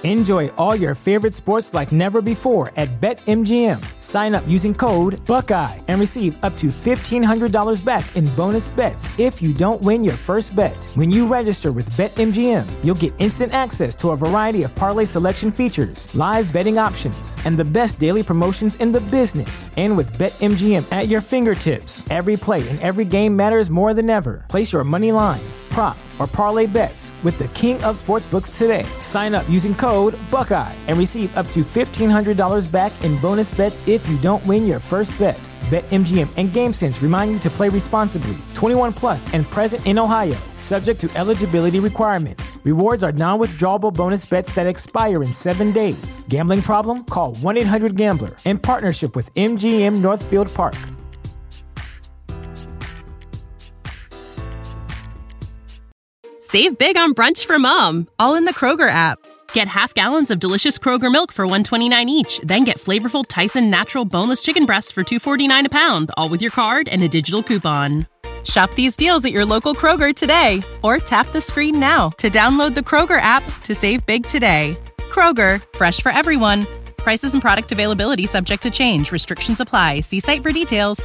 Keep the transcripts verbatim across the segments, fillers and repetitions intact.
Enjoy all your favorite sports like never before at BetMGM. Sign up using code Buckeye and receive up to fifteen hundred dollars back in bonus bets if you don't win your first bet. When you register with BetMGM, you'll get instant access to a variety of parlay selection features, live betting options, and the best daily promotions in the business. And with BetMGM at your fingertips, every play and every game matters more than ever. Place your money line, prop, or parlay bets with the king of sportsbooks today. Sign up using code Buckeye and receive up to fifteen hundred dollars back in bonus bets if you don't win your first bet. BetMGM and GameSense remind you to play responsibly. twenty-one plus and present in Ohio, subject to eligibility requirements. Rewards are non-withdrawable bonus bets that expire in seven days. Gambling problem? Call one eight hundred gambler in partnership with M G M Northfield Park. Save big on brunch for mom, all in the Kroger app. Get half gallons of delicious Kroger milk for one dollar and twenty-nine cents each. Then get flavorful Tyson natural boneless chicken breasts for two dollars and forty-nine cents a pound, all with your card and a digital coupon. Shop these deals at your local Kroger today, or tap the screen now to download the Kroger app to save big today. Kroger, fresh for everyone. Prices and product availability subject to change. Restrictions apply. See site for details.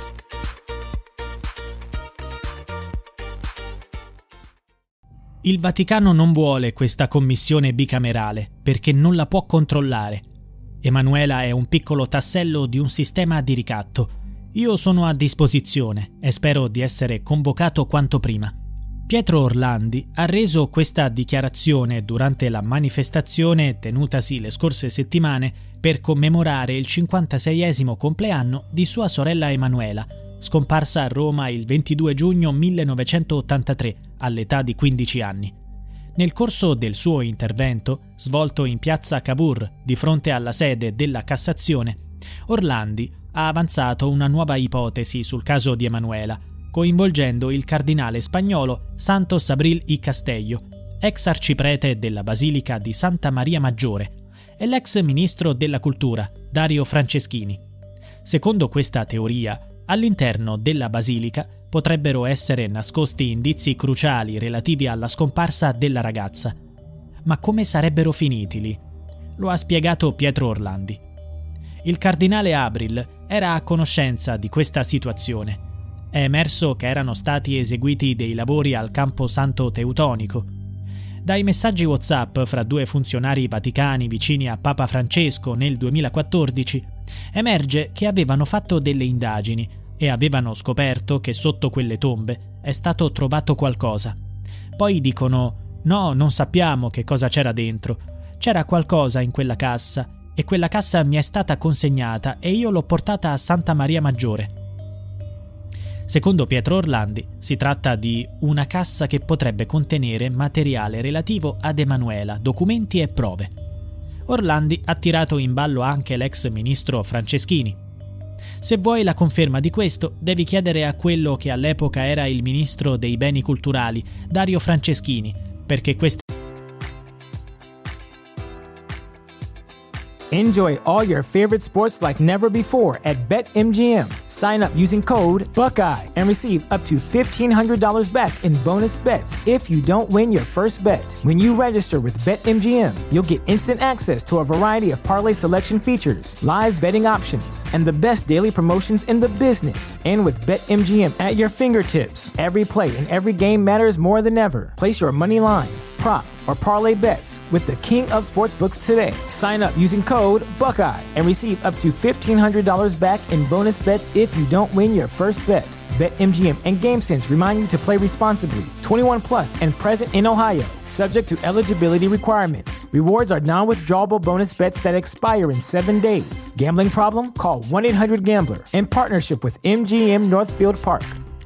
Il Vaticano non vuole questa commissione bicamerale perché non la può controllare. Emanuela è un piccolo tassello di un sistema di ricatto. Io sono a disposizione e spero di essere convocato quanto prima. Pietro Orlandi ha reso questa dichiarazione durante la manifestazione tenutasi le scorse settimane per commemorare il cinquantaseiesimo compleanno di sua sorella Emanuela, scomparsa a Roma il ventidue giugno millenovecentottantatré all'età di quindici anni. Nel corso del suo intervento, svolto in piazza Cavour di fronte alla sede della Cassazione, Orlandi ha avanzato una nuova ipotesi sul caso di Emanuela, coinvolgendo il cardinale spagnolo Santos Abril y Castello, ex arciprete della Basilica di Santa Maria Maggiore, e l'ex ministro della Cultura Dario Franceschini. Secondo questa teoria, all'interno della basilica potrebbero essere nascosti indizi cruciali relativi alla scomparsa della ragazza. Ma come sarebbero finiti lì? Lo ha spiegato Pietro Orlandi. Il cardinale Abril era a conoscenza di questa situazione. È emerso che erano stati eseguiti dei lavori al Campo Santo Teutonico. Dai messaggi WhatsApp fra due funzionari vaticani vicini a Papa Francesco nel duemilaquattordici emerge che avevano fatto delle indagini e avevano scoperto che sotto quelle tombe è stato trovato qualcosa. Poi dicono: no, non sappiamo che cosa c'era dentro. C'era qualcosa in quella cassa e quella cassa mi è stata consegnata e io l'ho portata a Santa Maria Maggiore. Secondo Pietro Orlandi si tratta di una cassa che potrebbe contenere materiale relativo ad Emanuela, documenti e prove. Orlandi ha tirato in ballo anche l'ex ministro Franceschini. Se vuoi la conferma di questo, devi chiedere a quello che all'epoca era il ministro dei beni culturali, Dario Franceschini, perché questa Enjoy all your favorite sports like never before at BetMGM. Sign up using code Buckeye and receive up to fifteen hundred dollars back in bonus bets if you don't win your first bet. When you register with BetMGM, you'll get instant access to a variety of parlay selection features, live betting options, and the best daily promotions in the business. And with BetMGM at your fingertips, every play and every game matters more than ever. Place your money line, prop, or parlay bets with the king of sportsbooks today. Sign up using code Buckeye and receive up to fifteen hundred dollars back in bonus bets if you don't win your first bet. BetMGM and GameSense remind you to play responsibly. twenty-one plus and present in Ohio, subject to eligibility requirements. Rewards are non-withdrawable bonus bets that expire in seven days. Gambling problem? Call one eight hundred gambler in partnership with M G M Northfield Park.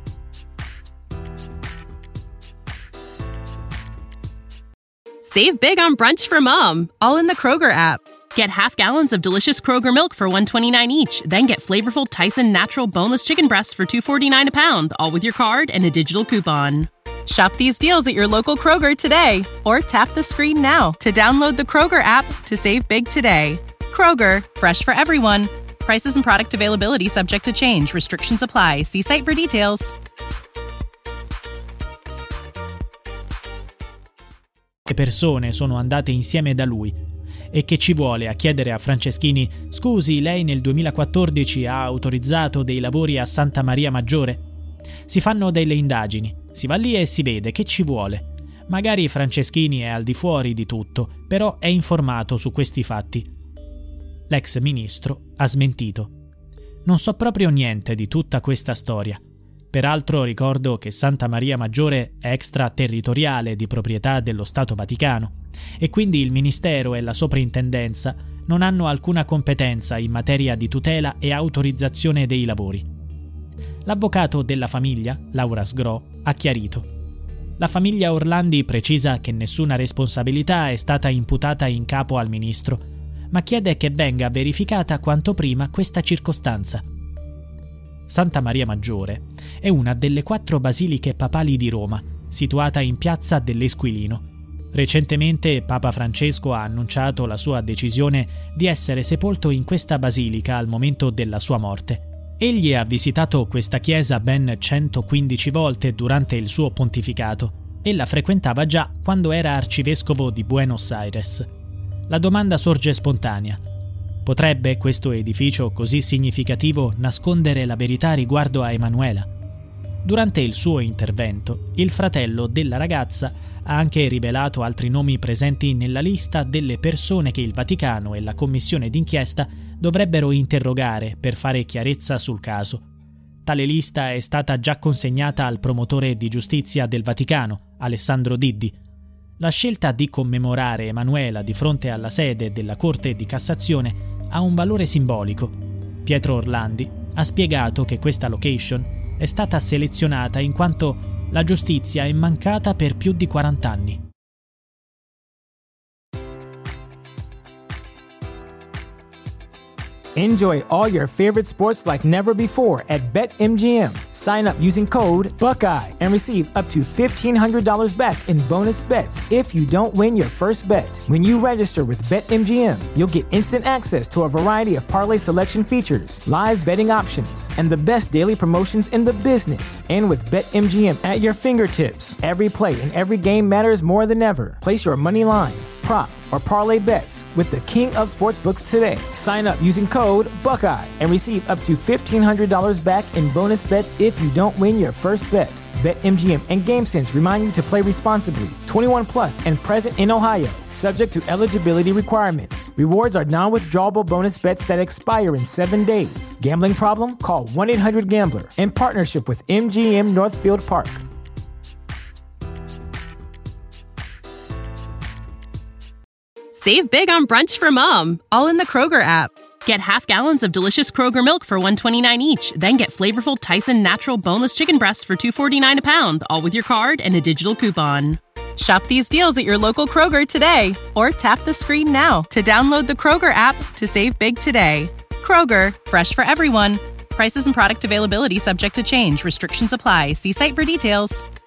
Save big on brunch for mom, all in the Kroger app. Get half gallons of delicious Kroger milk for one dollar and twenty-nine cents each. Then get flavorful Tyson natural boneless chicken breasts for two dollars and forty-nine cents a pound, all with your card and a digital coupon. Shop these deals at your local Kroger today, or tap the screen now to download the Kroger app to save big today. Kroger, fresh for everyone. Prices and product availability subject to change. Restrictions apply. See site for details. Le persone sono andate insieme da lui e che ci vuole a chiedere a Franceschini «Scusi, lei nel duemilaquattordici ha autorizzato dei lavori a Santa Maria Maggiore?» Si fanno delle indagini, si va lì e si vede che ci vuole. Magari Franceschini è al di fuori di tutto, però è informato su questi fatti. L'ex ministro ha smentito. Non so proprio niente di tutta questa storia. Peraltro ricordo che Santa Maria Maggiore è extraterritoriale di proprietà dello Stato Vaticano e quindi il Ministero e la Soprintendenza non hanno alcuna competenza in materia di tutela e autorizzazione dei lavori. L'avvocato della famiglia, Laura Sgro, ha chiarito. La famiglia Orlandi precisa che nessuna responsabilità è stata imputata in capo al ministro, ma chiede che venga verificata quanto prima questa circostanza. Santa Maria Maggiore è una delle quattro basiliche papali di Roma, situata in piazza dell'Esquilino. Recentemente Papa Francesco ha annunciato la sua decisione di essere sepolto in questa basilica al momento della sua morte. Egli ha visitato questa chiesa ben centoquindici volte durante il suo pontificato e la frequentava già quando era arcivescovo di Buenos Aires. La domanda sorge spontanea. Potrebbe questo edificio così significativo nascondere la verità riguardo a Emanuela? Durante il suo intervento, il fratello della ragazza ha anche rivelato altri nomi presenti nella lista delle persone che il Vaticano e la commissione d'inchiesta dovrebbero interrogare per fare chiarezza sul caso. Tale lista è stata già consegnata al promotore di giustizia del Vaticano, Alessandro Diddi. La scelta di commemorare Emanuela di fronte alla sede della Corte di Cassazione ha un valore simbolico. Pietro Orlandi ha spiegato che questa location è stata selezionata in quanto la giustizia è mancata per più di quaranta anni. Enjoy all your favorite sports like never before at BetMGM. Sign up using code Buckeye and receive up to fifteen hundred dollars back in bonus bets if you don't win your first bet. When you register with BetMGM, you'll get instant access to a variety of parlay selection features, live betting options, and the best daily promotions in the business. And with BetMGM at your fingertips, every play and every game matters more than ever. Place your money line, prop, or parlay bets with the king of sportsbooks today. Sign up using code Buckeye and receive up to fifteen hundred dollars back in bonus bets if you don't win your first bet. BetMGM and GameSense remind you to play responsibly. twenty-one plus and present in Ohio, subject to eligibility requirements. Rewards are non-withdrawable bonus bets that expire in seven days. Gambling problem? Call one eight hundred gambler in partnership with M G M Northfield Park. Save big on brunch for mom, all in the Kroger app. Get half gallons of delicious Kroger milk for one dollar and twenty-nine cents each. Then get flavorful Tyson natural boneless chicken breasts for two dollars and forty-nine cents a pound, all with your card and a digital coupon. Shop these deals at your local Kroger today, or tap the screen now to download the Kroger app to save big today. Kroger, fresh for everyone. Prices and product availability subject to change. Restrictions apply. See site for details.